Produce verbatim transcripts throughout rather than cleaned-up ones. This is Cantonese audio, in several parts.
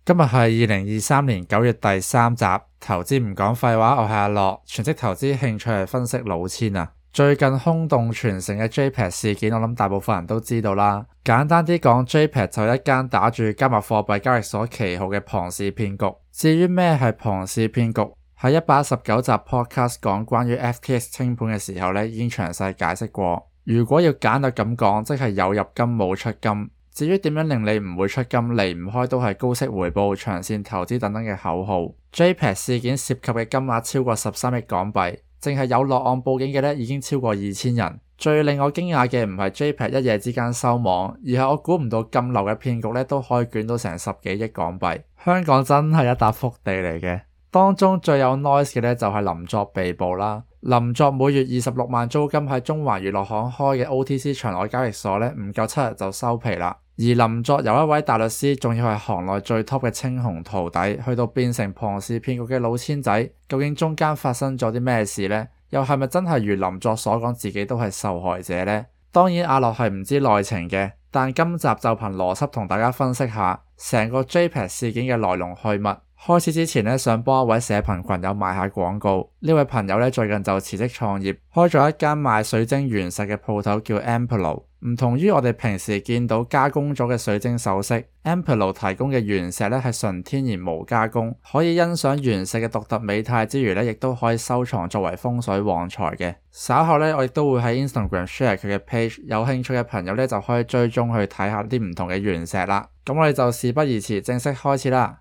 今日係二零二三年九月第三集，投資唔講廢話，我係阿樂，全職投資興趣係分析老千啊。最近轟動全城嘅 J P E X 事件，我諗大部分人都知道啦。簡單啲講 ，J P E X 就係一間打住加密貨幣交易所旗號嘅龐氏騙局。至於咩係龐氏騙局，喺一百一十九集 podcast 講關於 F T X 清盤嘅時候呢，已經詳細解釋過。如果要簡略咁講，即係有入金冇出金。至於點樣令你唔會出金，離唔開都係高息回報、長線投資等等嘅口號。J P E X 事件涉及嘅金額超過十三億港幣，淨係有落案報警嘅呢已經超過二千人。最令我驚訝嘅唔係 J P E X 一夜之間收網，而係我估唔到咁流嘅騙局呢都可以捲到成十幾億港幣。香港真係一笪福地嚟嘅。當中最有 noise 嘅呢就係林作被捕啦。林作每月二十六萬租金喺中環娛樂行開嘅 O T C 場外交易所呢，唔夠七日就收皮啦。而林作由一位大律師，仲要係行內最 top 嘅青紅徒弟，去到變成龐氏騙局嘅老千仔，究竟中間發生咗啲咩事呢？又係咪真係如林作所講，自己都係受害者呢？當然阿樂係唔知內情嘅，但今集就憑邏輯同大家分析下成個 J P E X 事件嘅來龍去脈。開始之前呢，想幫一位社群群友賣下廣告。呢位朋友呢，最近就辭職創業，開咗一間賣水晶原石嘅鋪頭，叫 Ampelo。唔同於我哋平時見到加工咗嘅水晶首飾， Ampelo 提供嘅原石呢係純天然無加工，可以欣賞原石嘅獨特美態之餘呢，亦都可以收藏作為風水旺財嘅。稍後呢，我亦都會喺 Instagram share 佢嘅 page， 有興趣嘅朋友呢，就可以追蹤去睇下啲唔同嘅原石啦。咁我哋就事不宜遲，正式開始啦。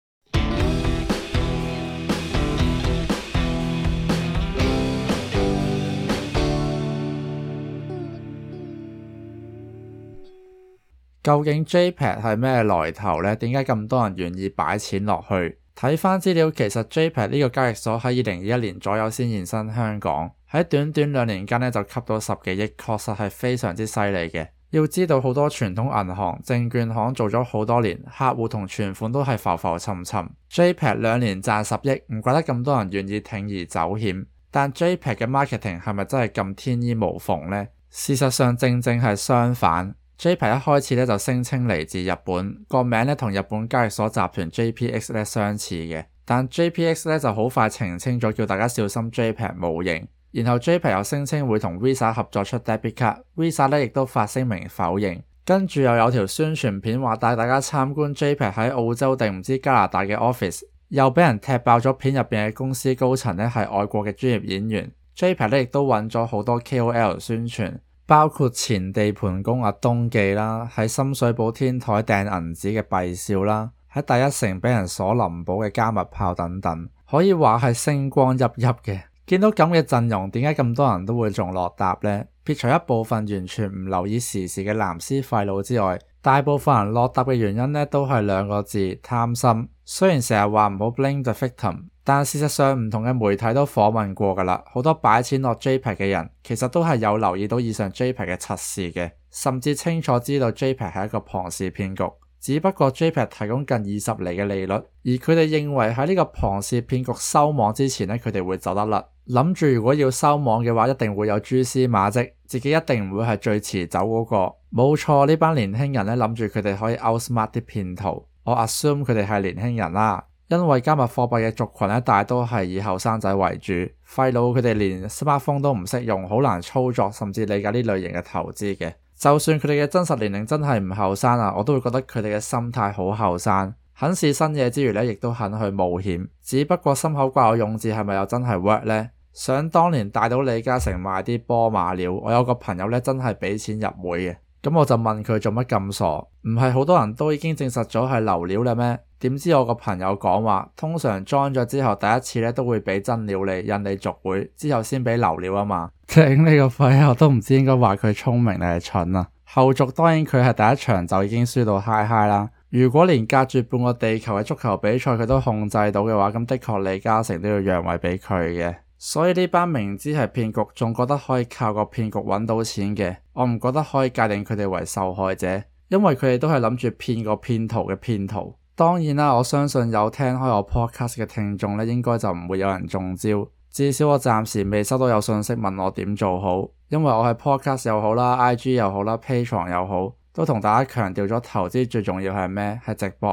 究竟 J P E X 係咩來頭呢？點解咁多人願意擺錢落去？睇翻資料，其實 J P E X 呢個交易所喺二零二一年左右先現身香港，喺短短兩年間呢就吸到十幾億，確實係非常之犀利嘅。要知道好多傳統銀行、證券行做咗好多年，客戶同存款都係浮浮沉沉。J P E X 兩年賺十億，唔怪得咁多人願意鋌而走險。但 J P E X 嘅 marketing 係咪真係咁天衣無縫呢？事實上正正係相反。J P E X 一開始咧就聲稱嚟自日本，個名咧同日本交易所集團 J P X 咧相似嘅，但 J P X 咧就好快澄清咗，叫大家小心 J P E X 模型。然後 J P E X 又聲稱會同 Visa 合作出 debit card，Visa 咧亦都發聲明否認。跟住又有條宣傳片話帶大家參觀 J P E X 喺澳洲定唔知加拿大嘅 office， 又俾人踢爆咗片入邊嘅公司高層咧係外國嘅專業演員。J P E X 咧亦都揾咗好多 K O L 宣傳。包括前地盤工阿東記啦，喺深水埗天台掟銀紙嘅畢少啦，喺第一城俾人鎖林寶嘅加密炮等等，可以話係星光熠熠嘅。見到咁嘅陣容，點解咁多人都會中落搭呢？撇除一部分完全唔留意時事嘅藍絲廢佬之外，大部分人落搭嘅原因呢都係兩個字：貪心。雖然成日話唔好 blame the victim，但事實上唔同嘅媒體都訪問過㗎啦，好多擺錢落 J P E X 嘅人其實都係有留意到以上 J P E X 嘅測試嘅，甚至清楚知道 J P E X 係一個龐氏騙局。只不過 J P E X 提供近二十厘嘅利率，而佢哋認為喺呢個龐氏騙局收網之前呢，佢哋會走得甩，諗住如果要收網嘅話，一定會有蛛絲馬跡，自己一定唔會係最遲走嗰個。冇錯，呢班年輕人呢，諗住佢哋可以 outsmart 啲騙徒。我 assume 佢哋係年輕人啦，因為加密貨幣嘅族群咧，大多係以後生仔為主，廢佬佢哋連 smartphone 都唔識用，好難操作，甚至理解呢類型嘅投資嘅。就算佢哋嘅真實年齡真係唔後生啊，我都會覺得佢哋嘅心態好後生，肯試新嘢之餘咧，亦都肯去冒險。只不過心口掛有勇字係咪又真係 work 呢？想當年帶到李嘉誠買啲波馬料，我有個朋友咧真係俾錢入會嘅。咁我就問佢做乜咁傻？唔係好多人都已經證實咗係流料啦咩？點知我個朋友講話，通常 join 咗之後第一次咧都會俾真料你，引你續會，之後先俾流料啊嘛。頂你個肺，我都唔知應該話佢聰明定係蠢啊。後續當然佢係第一場就已經輸到嗨嗨啦。如果連隔住半個地球嘅足球比賽佢都控制到嘅話，咁的確李嘉誠都要讓位俾佢嘅。所以呢班明知係騙局，仲覺得可以靠個騙局揾到錢嘅，我唔覺得可以界定佢哋為受害者，因為佢哋都係諗住騙個騙徒嘅騙徒。當然啦，我相信有聽開我 podcast 嘅聽眾咧，應該就唔會有人中招。至少我暫時未收到有信息問我點做好，因為我係 podcast 又好啦 ，I G 又好啦，Patreon 又好，都同大家強調咗投資最重要係咩？係值博率。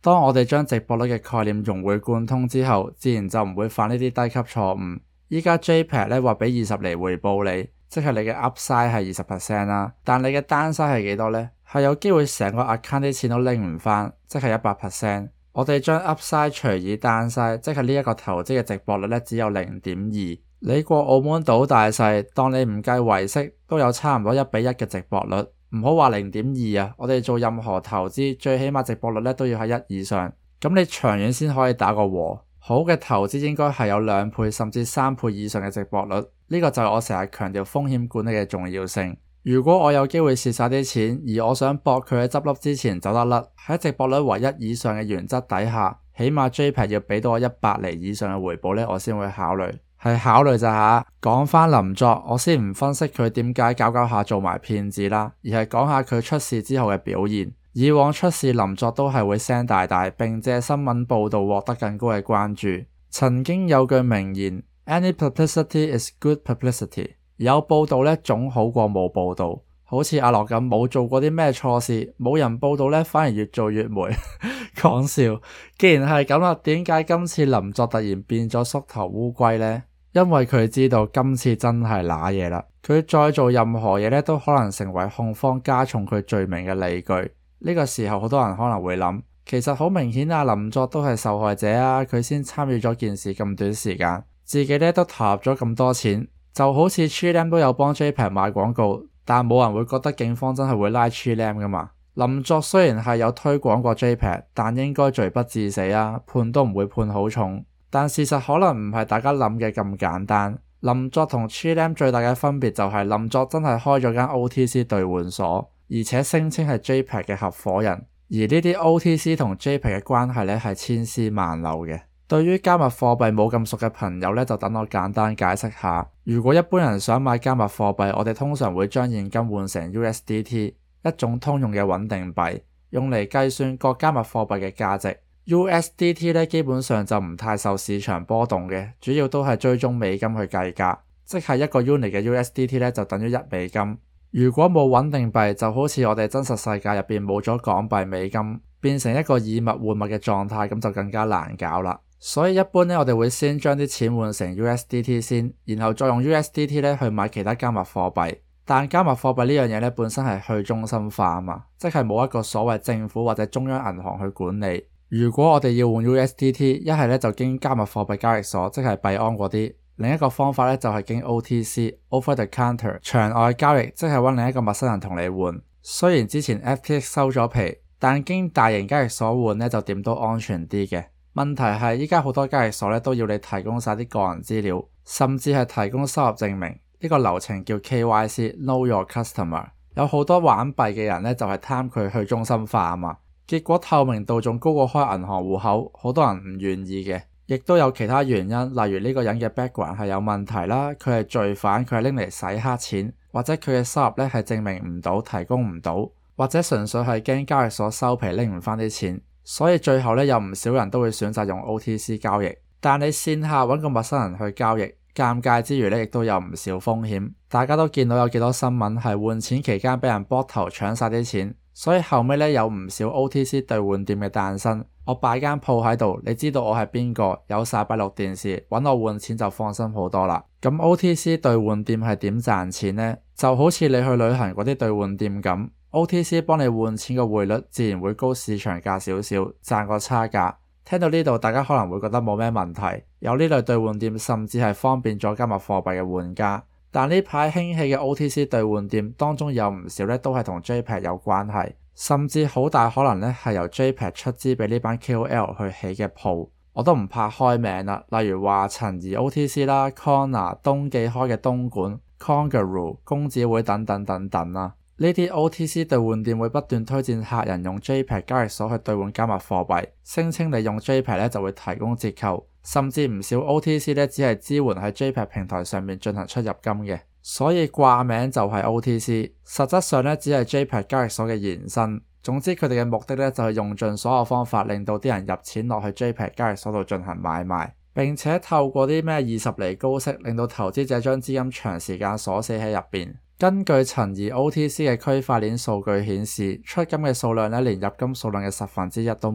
當我哋將值博率嘅概念融會貫通之後，自然就唔會犯呢啲低級錯誤。依家 J P E G 咧話俾二十厘回報你，即係你嘅 Upside 係二十 percent 啦，但你嘅 Downside 係幾多呢？係有機會成個 account 啲錢都拎唔返，即係一百 percent。我哋將 Upside 除以 Downside，即係呢一個投資嘅值博率咧只有零點二。你過澳門賭大細，當你唔計維息，都有差唔多一比一嘅值博率。唔好話零點二啊，我哋做任何投資，最起碼值博率咧都要喺一以上，咁你長遠先可以打個和。好嘅投資應該係有兩倍甚至三倍以上嘅值博率，呢個就係我成日強調風險管理嘅重要性。如果我有機會蝕晒啲錢，而我想搏佢喺執笠之前走得甩，喺值博率為一以上嘅原則底下，起碼 J P E G 要俾到我一百厘以上嘅回報呢，我先會考慮。係考慮咋吓？講返林作，我先唔分析佢點解搞搞下做埋騙子啦，而係講下佢出事之後嘅表現。以往出事林作都係會聲大大，並借新聞報道獲得更高嘅關注。曾經有句名言 Any publicity is good publicity， 有報道呢總好過冇報道。好似阿樂咁冇做過啲咩錯事，冇人報道呢反而越做越霉。講笑，既然係咁啦，點解今次林作突然變咗縮頭烏龜呢？因為佢知道今次真係瀨嘢啦，佢再做任何嘢咧都可能成為控方加重佢罪名嘅理據。呢個時候好多人可能會諗，其實好明顯啊，林作都係受害者啊，佢先參與咗件事咁短時間，自己咧都投入咗咁多錢，就好似 Chilam 都有幫 J P E G 賣廣告，但冇人會覺得警方真係會拉 Chilam 噶嘛。林作雖然係有推廣過 J P E G， 但應該罪不至死啊，判都唔會判好重。但事實可能唔係大家諗嘅咁簡單。林作同 Chilam 最大嘅分別就係林作真係開咗間 O T C 兌換所，而且聲稱係 J P E G 嘅合夥人。而呢啲 O T C 同 J P E G 嘅關係咧係千絲萬縷嘅。對於加密貨幣冇咁熟嘅朋友咧，就等我簡單解釋下。如果一般人想買加密貨幣，我哋通常會將現金換成 U S D T， 一種通用嘅穩定幣，用嚟計算各加密貨幣嘅價值。U S D T 咧基本上就唔太受市場波動嘅，主要都係追蹤美金去計價，即係一個 unit 嘅 U S D T 咧就等於一美金。如果冇穩定幣，就好似我哋真實世界入邊冇咗港幣美金，變成一個以物換物嘅狀態，咁就更加難搞啦。所以一般咧，我哋會先將啲錢換成 U S D T 先，然後再用 U S D T 咧去買其他加密貨幣。但加密貨幣呢樣嘢咧本身係去中心化啊嘛，即係冇一個所謂政府或者中央銀行去管理。如果我哋要換 U S D T， 一係咧就經加密貨幣交易所，即係幣安嗰啲；另一個方法咧就係經 O T C（Over the Counter） 場外交易，即係揾另一個陌生人同你換。雖然之前 F T X 收咗皮，但經大型交易所換咧就點都安全啲嘅。問題係依家好多交易所咧都要你提供晒啲個人資料，甚至係提供收入證明。呢個流程叫 K Y C（Know Your Customer）。有好多玩幣嘅人咧就係貪佢去中心化啊嘛。結果透明度仲高過開銀行戶口，好多人唔願意嘅，亦都有其他原因，例如呢個人嘅 background 係有問題啦，佢係罪犯，佢係拎嚟洗黑錢，或者佢嘅收入咧係證明唔到，提供唔到，或者純粹係驚交易所收皮拎唔返啲錢，所以最後咧有唔少人都會選擇用 O T C 交易。但你線下揾個陌生人去交易，尷尬之餘咧亦都有唔少風險。大家都見到有幾多新聞係換錢期間俾人剝頭搶晒啲錢。所以後尾咧有唔少 O T C 兌換店嘅誕生，我擺間鋪喺度，你知道我係邊個，有晒閉路電視，揾我換錢就放心好多啦。咁 O T C 兌換店係點賺錢呢？就好似你去旅行嗰啲兌換店咁 ，O T C 幫你換錢嘅匯率自然會高市場價少少，賺個差價。聽到呢度，大家可能會覺得冇咩問題，有呢類兌換店甚至係方便咗加密貨幣嘅換家。但呢排興起嘅 O T C 兌換店當中有唔少咧都係同 J P E G 有關係，甚至好大可能咧係由 J P E G 出資俾呢班 K O L 去起嘅鋪，我都唔怕開名啦，例如話陳怡 O T C 啦、Connor、東記開嘅東莞、Kangaroo、公子會等等等等啦。呢啲 O T C 兌換店會不斷推薦客人用 J P E G 交易所去兌換加密貨幣，聲稱你用 J P E G 咧就會提供折扣。甚至唔少 O T C 咧只係支援喺 J P E G 平台上面進行出入金嘅，所以掛名就係 O T C， 實質上咧只係 J P E G 交易所嘅延伸。總之佢哋嘅目的咧就係用盡所有方法令到啲人入錢落去 J P E G 交易所度進行買賣，並且透過啲咩二十厘高息令到投資者將資金長時間鎖死喺入邊。根據陳怡 O T C 嘅區塊鏈數據顯示，出金嘅數量咧連入金數量嘅十分之一都冇。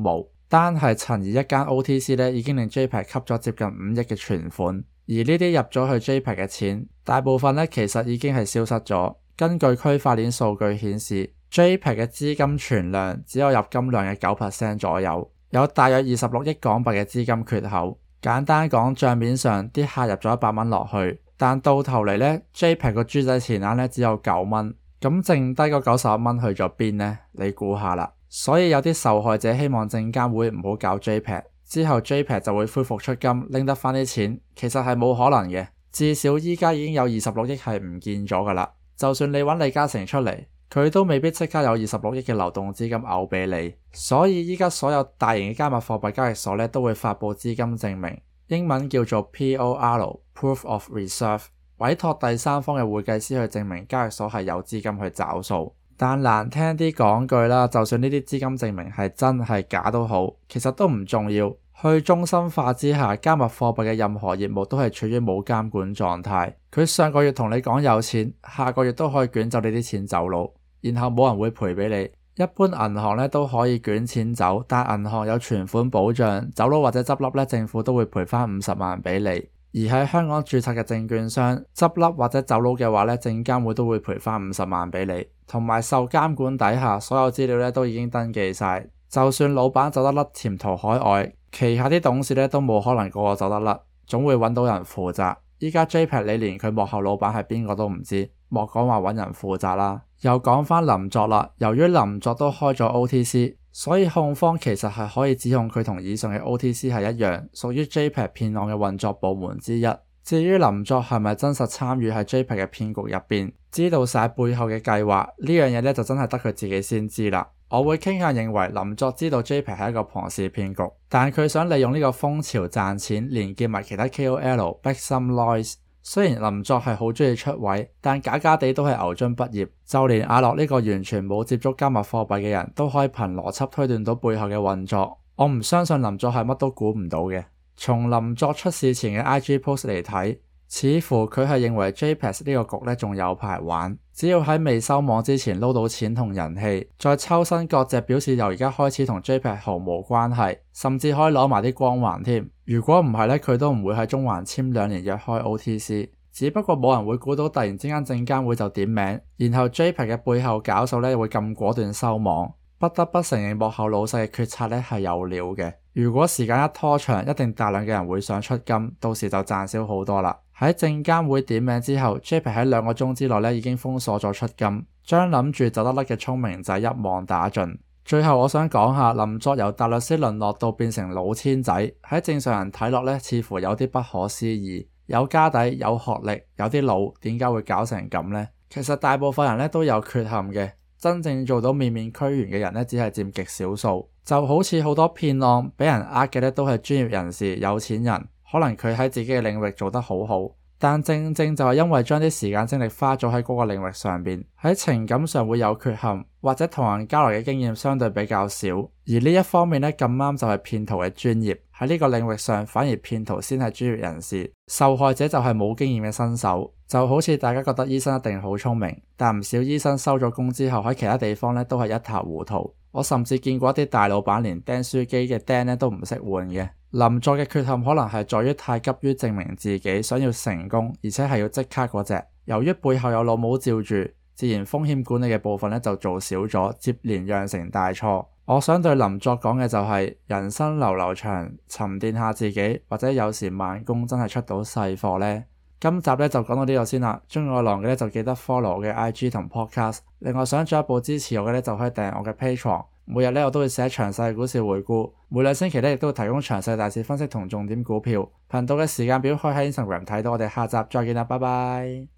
單係陳怡一間 O T C 咧，已經令 J P E G 吸咗接近五億嘅存款，而呢啲入咗去 J P E G 嘅錢，大部分咧其實已經係消失咗。根據區塊鏈數據顯示 ，J P E G 嘅資金存量只有入金量嘅 九 percent 左右，有大約二十六億港幣嘅資金缺口。簡單講，賬面上啲客入咗一百蚊落去，但到頭嚟咧 J P E G 個豬仔錢額咧只有九蚊，咁剩低嗰九十一蚊去咗邊呢？你估下啦。所以有啲受害者希望證監會唔好搞 J P E G， 之後 J P E G 就會恢復出金，拎得返啲錢，其實係冇可能嘅。至少依家已經有二十六億係唔見咗噶啦。就算你揾李嘉誠出嚟，佢都未必即刻有二十六億嘅流動資金嘔俾你。所以依家所有大型嘅加密貨幣交易所咧都會發佈資金證明，英文叫做 P O R（Proof of Reserve），委託第三方嘅會計師去證明交易所係有資金去找數。但難聽啲講句啦，就算呢啲資金證明係真係假都好，其實都唔重要。去中心化之下，加密貨幣嘅任何業務都係處於冇監管狀態。佢上個月同你講有錢，下個月都可以捲走你啲錢走佬，然後冇人會賠俾你。一般銀行咧都可以捲錢走，但銀行有存款保障，走佬或者執笠咧，政府都會賠翻五十萬俾你。而喺香港註冊嘅證券商執笠或者走佬嘅話咧，證監會都會賠翻五十萬俾你。同埋受監管底下，所有資料咧都已經登記晒，就算老闆走得甩潛逃海外，旗下啲董事咧都冇可能個個走得甩，總會揾到人負責。依家 J P E G 你連佢幕後老闆係邊個都唔知，莫講話揾人負責啦。又講返林作啦，由於林作都開咗 O T C， 所以控方其實係可以指控佢同以上嘅 O T C 係一樣，屬於 J P E G 騙案嘅運作部門之一。至於林作係咪真實參與喺 J P E G 嘅騙局入邊，知道晒背後嘅計劃，呢樣嘢咧就真係得佢自己先知啦。我會傾向認為林作知道 J P E G 係一個龐氏騙局，但佢想利用呢個風潮賺錢，連結埋其他 K O L， 逼 some noise。雖然林作係好中意出位，但假假地都係牛津畢業，就連阿樂呢個完全冇接觸加密貨幣嘅人都可以憑邏輯推斷到背後嘅運作。我唔相信林作係乜都估唔到嘅。從林作出事前嘅 I G post 嚟睇，似乎佢係認為 J P E G 呢個局咧仲有排玩，只要喺未收網之前撈到錢同人氣，再抽身割席表示由而家開始同 J P E G 毫無關係，甚至可以攞埋啲光環添。如果唔係咧，佢都唔會喺中環簽兩年約開 O T C。只不過冇人會估到突然之間證監會就點名，然後 J P E G 嘅背後搞數咧會咁果斷收網。不得不承認幕後老細嘅決策咧係有料嘅。如果時間一拖長，一定大量嘅人會想出金，到時就賺少好多啦。喺證監會點名之後 ，J P E G 喺兩個鐘之內咧已經封鎖咗出金，將諗住走得甩嘅聰明仔一網打盡。最後我想講下林作由大律師淪落到變成老千仔，喺正常人睇落咧似乎有啲不可思議。有家底、有學歷、有啲腦，點解會搞成咁呢？其實大部分人咧都有缺陷嘅，真正做到面面俱圓嘅人咧只係佔極少數。就好似好多騙案俾人呃嘅咧都係專業人士、有錢人，可能佢喺自己嘅領域做得好好，但正正就係因為將啲時間精力花咗喺嗰個領域上邊，喺情感上會有缺陷，或者同人交流嘅經驗相對比較少，而呢一方面咧咁啱就係騙徒嘅專業。喺呢個領域上，反而騙徒先係專業人士，受害者就係冇經驗嘅新手。就好似大家覺得醫生一定好聰明，但唔少醫生收咗工之後喺其他地方咧都係一塌糊塗。我甚至見過一啲大老闆連釘書機嘅釘咧都唔識換嘅。林作嘅缺陷可能係在於太急於證明自己，想要成功，而且係要即刻嗰隻。由於背後有老母罩住，自然風險管理嘅部分咧就做少咗，接連釀成大錯。我想對林作講嘅就係、是、人生流流長，沉澱下自己，或者有時慢工真係出到細貨呢。今集咧就講到呢度先啦。鍾意我郎嘅咧就記得 follow 我嘅 I G 同 podcast。另外想進一步支持我嘅咧就可以訂閱我嘅 Patreon。每日咧我都會寫詳細嘅股市回顧，每兩星期咧亦都會提供詳細大市分析同重點股票。頻道嘅時間表可以喺 Instagram 睇到。我哋下集再見啦，拜拜。